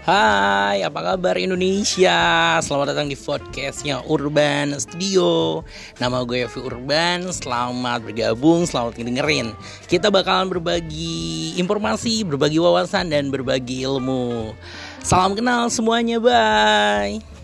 Hai, apa kabar Indonesia? Selamat datang di podcastnya Urban Studio. Nama gue Yofi Urban. Selamat bergabung, selamat dengerin. Kita bakalan berbagi informasi, berbagi wawasan, dan berbagi ilmu. Salam kenal semuanya, bye.